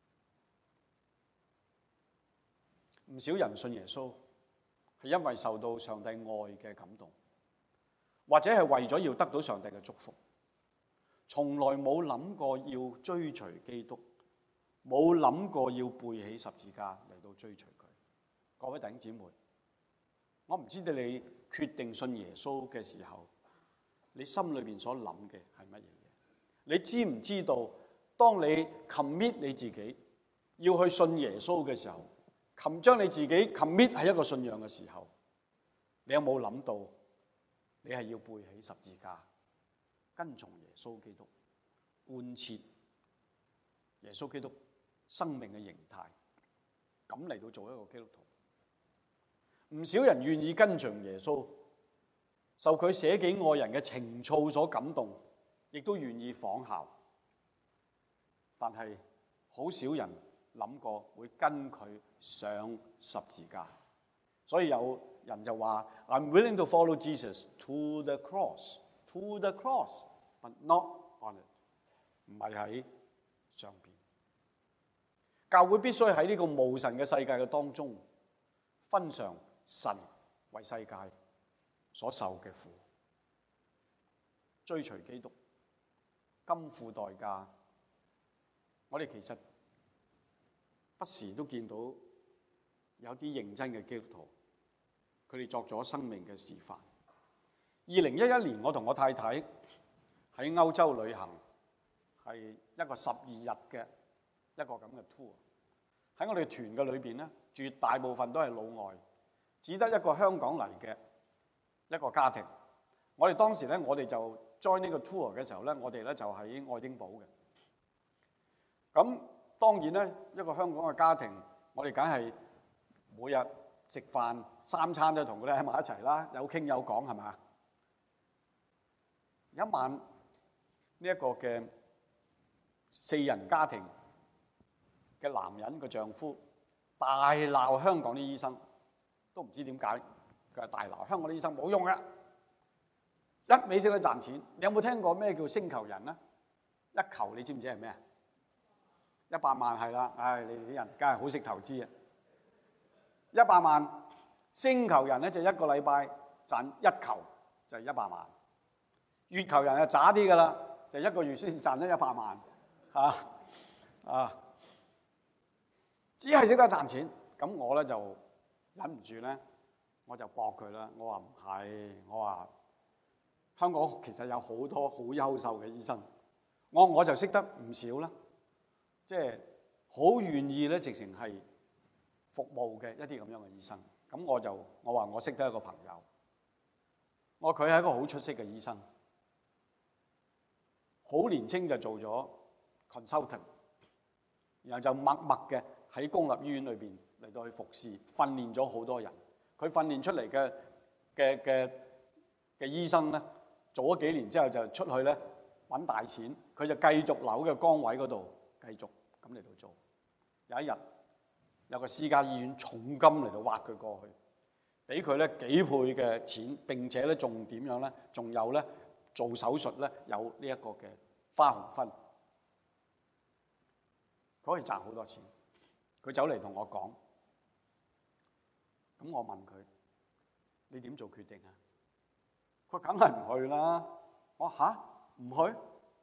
唔少人信耶穌係因為受到上帝愛嘅感動，或者係為咗要得到上帝嘅祝福，從來冇諗過要追隨基督，冇諗過要背起十字架嚟到追隨佢。各位弟兄姊妹，我唔知道你決定信耶穌嘅時候，你心裏邊所諗嘅係乜嘢嘢？你知唔知道，當你 commit 你自己要去信耶穌嘅時候，將你自己 commit 係一個信仰嘅時候，你有冇諗到你係要背起十字架，跟從耶穌基督，貫徹耶穌基督生命嘅形態，咁嚟到做一個基督徒？唔少人願意跟隨耶穌，受佢捨己愛人嘅情操所感動，亦都願意仿效，但係好少人諗過會跟佢上十字架。所以有人就話 I'm willing to follow Jesus to the cross, to the cross, but not on it。 唔係喺上邊。教會必須喺呢個無神嘅世界嘅當中分嘗神為世界所受嘅苦，追隨基督，甘付代價。我哋其實不時都見到有啲認真嘅基督徒，佢哋作咗生命嘅示範。二零一一年，我同我太太喺歐洲旅行，係一個十二日嘅一個咁嘅 tour。喺我哋團嘅裏邊咧，絕大部分都係老外，只得一個香港嚟嘅一個家庭。我哋當時咧，我哋就 join 呢個 tour 嘅時候咧，我哋咧就喺愛丁堡嘅。咁當然咧，一個香港嘅家庭，我哋梗係每日食飯三餐都同佢哋喺埋一齊啦，有傾有講，係嘛？有一晚呢一個嘅四人家庭嘅男人嘅丈夫大鬧香港啲醫生，都唔知點解佢係大鬧香港啲醫生冇用嘅，一味識得賺錢。你有冇聽過咩叫星球人咧？一球你知唔知係咩啊？一百萬係啦，唉，你哋啲人梗係好識投資啊！一百萬星球人咧就一個禮拜賺一球就係一百萬，月球人就渣啲噶啦，就一個月先賺咗一百萬嚇啊！只係識得賺錢，咁我咧就忍唔住咧，我就駁佢啦。我話唔係，我話香港其實有好多好優秀嘅醫生，我我就識得唔少啦。即係好願意咧，直情係服務嘅一啲咁樣嘅醫生。咁我就我話我識得一個朋友，我話佢係一個好出色嘅醫生，好年青就做咗 consultant， 然後就默默嘅喺公立醫院裏邊嚟到去服侍，訓練咗好多人。佢訓練出嚟嘅嘅嘅嘅醫生咧，做咗幾年之後就出去咧揾大錢，佢就繼續留喺個崗位嗰度繼續咁嚟到做。有一日有個私家醫院重金嚟到挖佢過去，俾佢咧幾倍嘅錢，並且咧仲點樣咧？仲有咧做手術咧有呢一個嘅花紅分，佢可以賺好多錢。佢走嚟同我講，咁我問佢：你點做決定啊？佢梗係唔去啦。我話吓，唔去，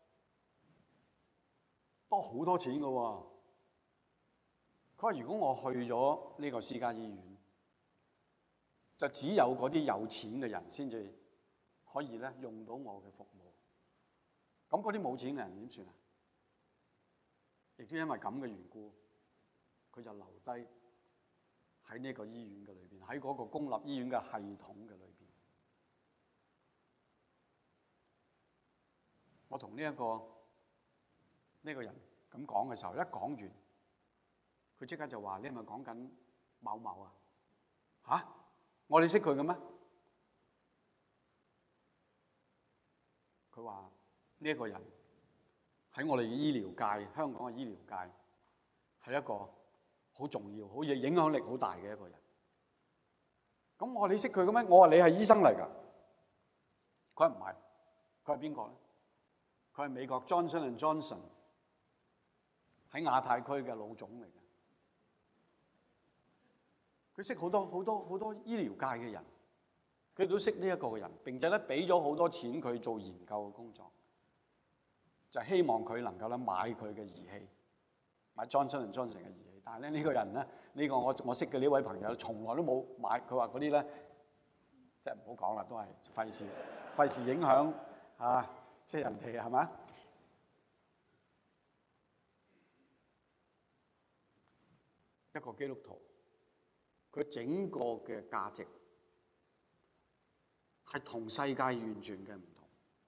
多好多錢㗎喎。佢話：如果我去咗呢個私家醫院，就只有嗰啲有錢嘅人先至可以咧用到我嘅服務。咁嗰啲冇錢嘅人點算啊？亦都因為咁嘅緣故，佢就留低喺呢個醫院嘅裏邊，喺嗰個公立醫院嘅系統嘅裏邊。我同呢一個呢個人咁講嘅時候，一講完，佢即刻就話：你係咪講緊某某啊？嚇！我哋識佢嘅咩？佢話呢一個人喺我哋醫療界，香港嘅醫療界係一個好重要、好影響力好大嘅一個人。咁我話你識佢嘅咩？我話你係醫生嚟㗎。佢話唔係，佢係邊個咧？佢係美國 Johnson and Johnson 喺亞太區嘅老總嚟嘅。佢識好多好多好多醫療界嘅人，佢都識呢一個嘅人，並且咧俾咗好多錢佢做研究嘅工作，就係希望佢能夠咧買佢嘅儀器，買 Johnson and Johnson 嘅儀器。但係咧呢個人咧，呢個我我識嘅呢位朋友，從來都冇買。佢話嗰啲咧，即係唔好講啦，都係費事費事影響啊，即係人哋係咪？一個基督徒，佢整個嘅價值係同世界完全嘅唔同。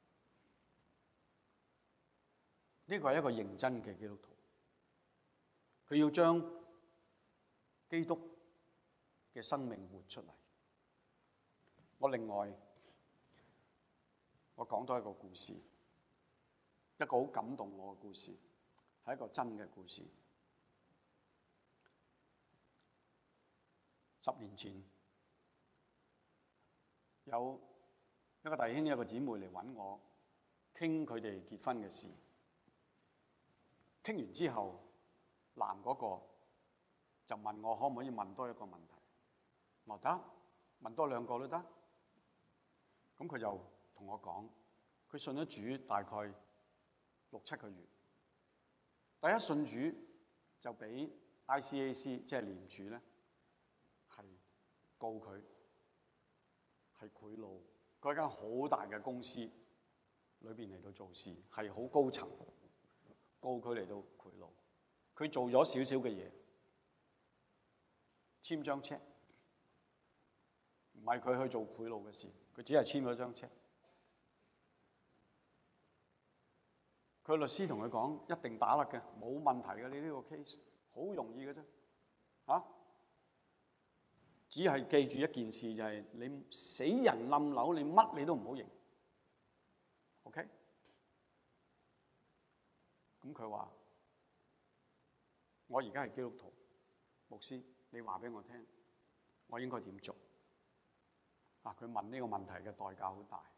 呢個係一個認真嘅基督徒，佢要將基督嘅生命活出嚟。我另外我講多一個故事，一個好感動我嘅故事，係一個真嘅故事。十年前有一個弟兄一個姊妹嚟揾我傾佢哋結婚嘅事，傾完之後，男嗰個就問我可唔可以問多一個問題。我話得，問多兩個都得。咁佢就同我講，佢信咗主大概六七個月，第一信主就俾 I C A C 即係廉署咧，係告佢係賄賂，佢一間好大嘅公司裏邊嚟到做事，係好高層，告佢嚟到賄賂。佢做咗少少嘅嘢，簽張車，唔係佢去做賄賂嘅事，佢只係簽咗張車。佢律師同佢講，一定打甩嘅，冇問題嘅，你呢個 case 好容易嘅啫，嚇！只係記住一件事，就係你死人冧樓，你乜你都唔好認 ，OK？咁佢話：我而家係基督徒，牧師，你話俾我聽，我應該點做？啊！佢問呢個問題嘅代價好大。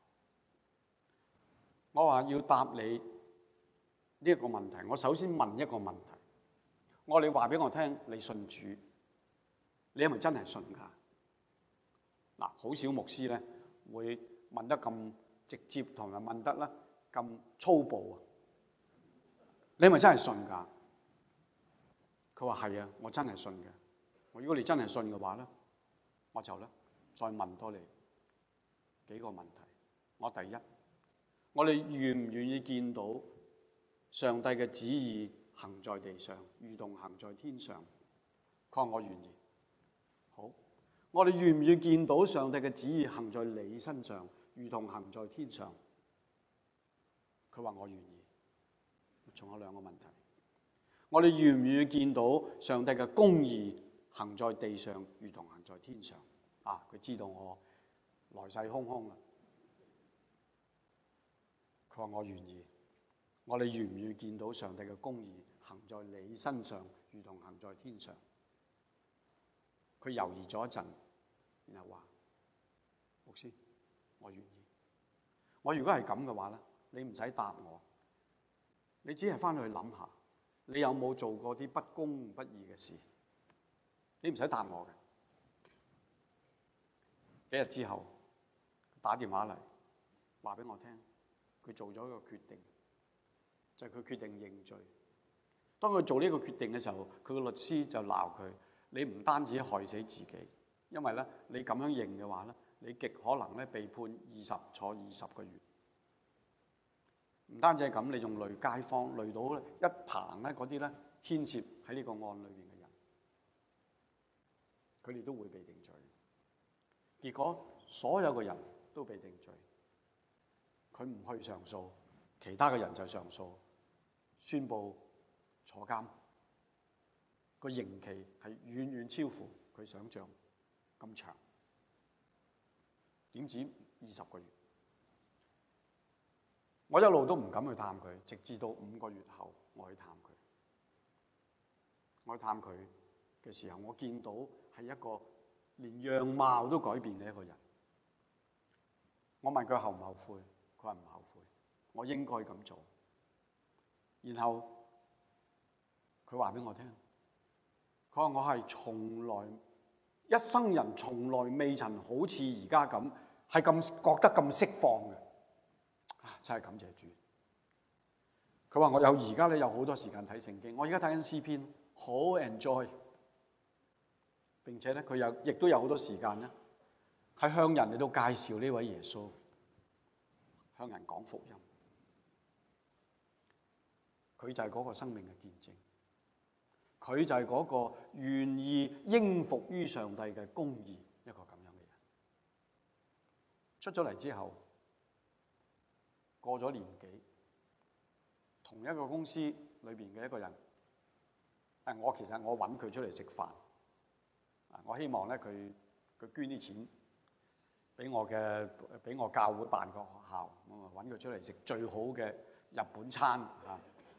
我話要答你呢一個問題，我首先問一個問題。我話你話俾我聽，你信主，你係咪真係信㗎？嗱，好少牧師咧會問得咁直接，同埋問得咧咁粗暴啊！你係咪真係信㗎？佢話係啊，我真係信嘅。我如果你真係信嘅話咧，我就咧再問多你幾個問題。我第一，我哋願唔願意見到上帝嘅旨意行在地上，如同行在天上。佢話我願意。好，我哋願唔願意見到上帝嘅旨意行在你身上，如同行在天上？佢話我願意。仲有兩個問題，我哋願唔願意見到上帝嘅公義行在地上，如同行在天上？啊，佢知道我來勢洶洶啦。佢話我願意。我哋願唔願意見到上帝嘅公義行在你身上，如同行在天上？佢猶豫咗一陣，然後話：牧師，我願意。我如果係咁嘅話咧，你唔使答我，你只係翻去諗下，你有冇做過啲不公不義嘅事？你唔使答我嘅。幾日之後打電話嚟話俾我聽，佢做咗一個決定，就係佢決定認罪。當佢做呢個決定嘅時候，佢個律師就鬧佢：你唔單止害死自己，因為咧你咁樣認嘅話咧，你極可能咧被判二十坐二十個月。唔單止係咁，你仲累街坊，累到一棚咧嗰啲咧牽涉喺呢個案裏邊嘅人，佢哋都會被定罪。結果所有嘅人都被定罪，佢唔去上訴，其他嘅人就上訴，宣布坐監。個刑期係遠遠超乎佢想象咁長，點止二十個月？我一路都唔敢去探佢，直至到五個月後我去探佢。我去探佢嘅時候，我見到係一個連樣貌都改變嘅一個人。我問佢後唔後悔，佢話唔後悔，我應該咁做。然後佢話俾我聽，佢話我係從來一生人從來未曾好似而家咁係咁覺得咁釋放嘅。啊！真係感謝主。佢話我有而家咧有好多時間睇聖經，我而家睇緊詩篇，好 enjoy。並且咧佢有亦都有好多時間咧，係向人嚟到介紹呢位耶穌，向人講福音。佢就係嗰個生命嘅見證，佢就係嗰個願意應服於上帝嘅公義一個咁樣嘅人。出咗嚟之後，過咗年幾，同一個公司裏邊嘅一個人，誒，我其實我揾佢出嚟食飯，啊，我希望咧佢佢捐啲錢俾我嘅，俾我教會辦個學校，咁啊揾佢出嚟食最好嘅日本餐啊！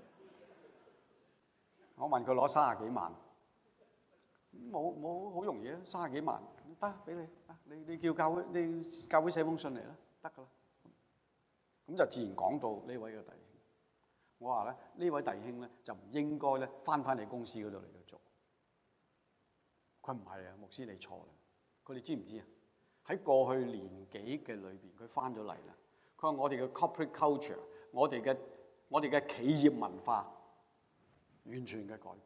我問佢攞三十幾萬，冇冇好容易啊！三十幾萬得俾你啊！你你叫教會，你教會寫封信嚟啦，得噶啦。咁就自然講到呢位嘅弟兄。我話咧，呢位弟兄咧就唔應該咧翻返你公司嗰度嚟到做。佢唔係啊，牧師你錯啦。佢哋知唔知啊？喺過去年幾嘅裏邊，佢翻咗嚟啦。佢話我哋嘅 corporate culture，我哋嘅我哋嘅企業文化完全嘅改變。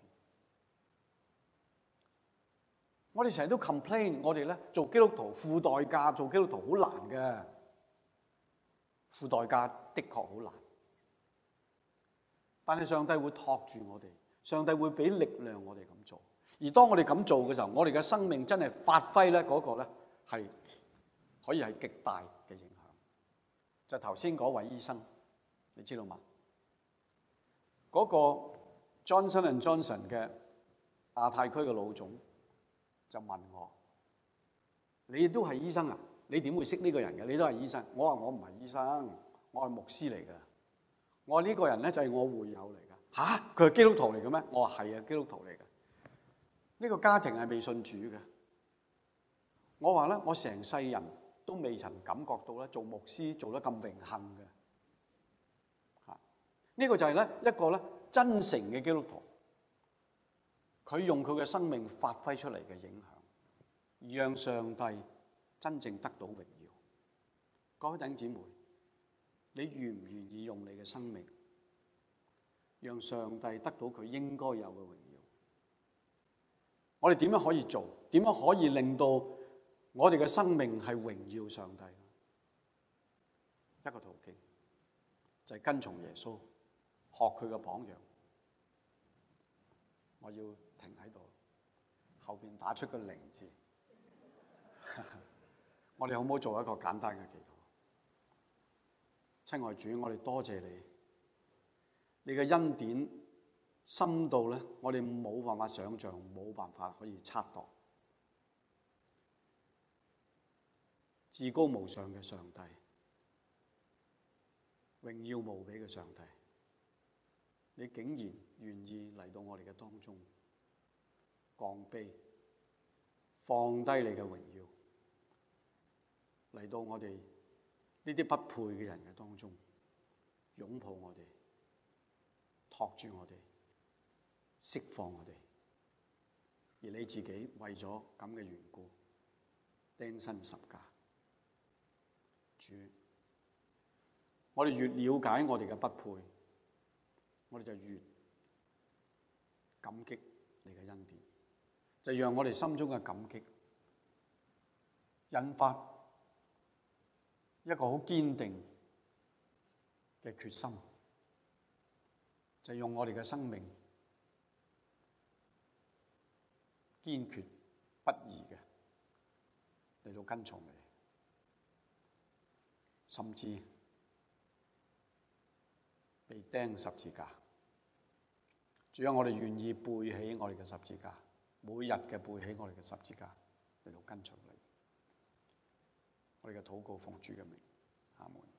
我哋成日都 complain， 我哋咧做基督徒付代價，做基督徒好難嘅。付代價的確好難，但係上帝會托住我哋，上帝會俾力量我哋咁做。而當我哋咁做嘅時候，我哋嘅生命真係發揮咧嗰個咧係可以係極大嘅影響。就頭先嗰位醫生，你知道嗎？嗰個 Johnson and Johnson 嘅亞太區嘅老總就問我：你都係醫生啊？你點會識呢個人嘅？你都係醫生。我話我唔係醫生，我係牧師嚟嘅。我話呢個人咧就係我會友嚟㗎。吓？佢係基督徒嚟嘅咩？我話係啊，基督徒嚟嘅。呢個家庭係未信主嘅。我話咧，我成世人都未曾感覺到咧做牧師做得咁榮幸嘅。吓，呢個就係咧一個咧真誠嘅基督徒，佢用佢嘅生命發揮出嚟嘅影響，而讓上帝真正得到榮耀。各位弟兄姊妹，你願唔願意用你嘅生命，讓上帝得到佢應該有嘅榮耀？我哋點樣可以做？點樣可以令到我哋嘅生命係榮耀上帝？一個途徑就係跟從耶穌，學佢嘅榜樣， 我要停喺度，後邊打出個零字。我哋好唔好做一個簡單嘅祈禱？親愛主，我哋多謝你，你嘅恩典深度咧，我哋冇辦法想像，冇辦法可以測度。至高無上嘅上帝，榮耀無比嘅上帝，你竟然願意嚟到我哋嘅當中，降卑，放低你嘅榮耀，嚟到我哋呢啲不配嘅人嘅當中，擁抱我哋，托住我哋，釋放我哋，而你自己為咗咁嘅緣故，釘身十架。主，我哋越了解我哋嘅不配，我哋就越感激你嘅恩典，就讓我哋心中嘅感激引發一個好堅定嘅決心，就用我哋嘅生命堅決不移嘅嚟到跟從你。甚至被釘十字架，主啊，我哋願意背起我哋嘅十字架，每日嘅背起我哋嘅十字架嚟到跟隨你。我哋嘅禱告奉主嘅名，阿門。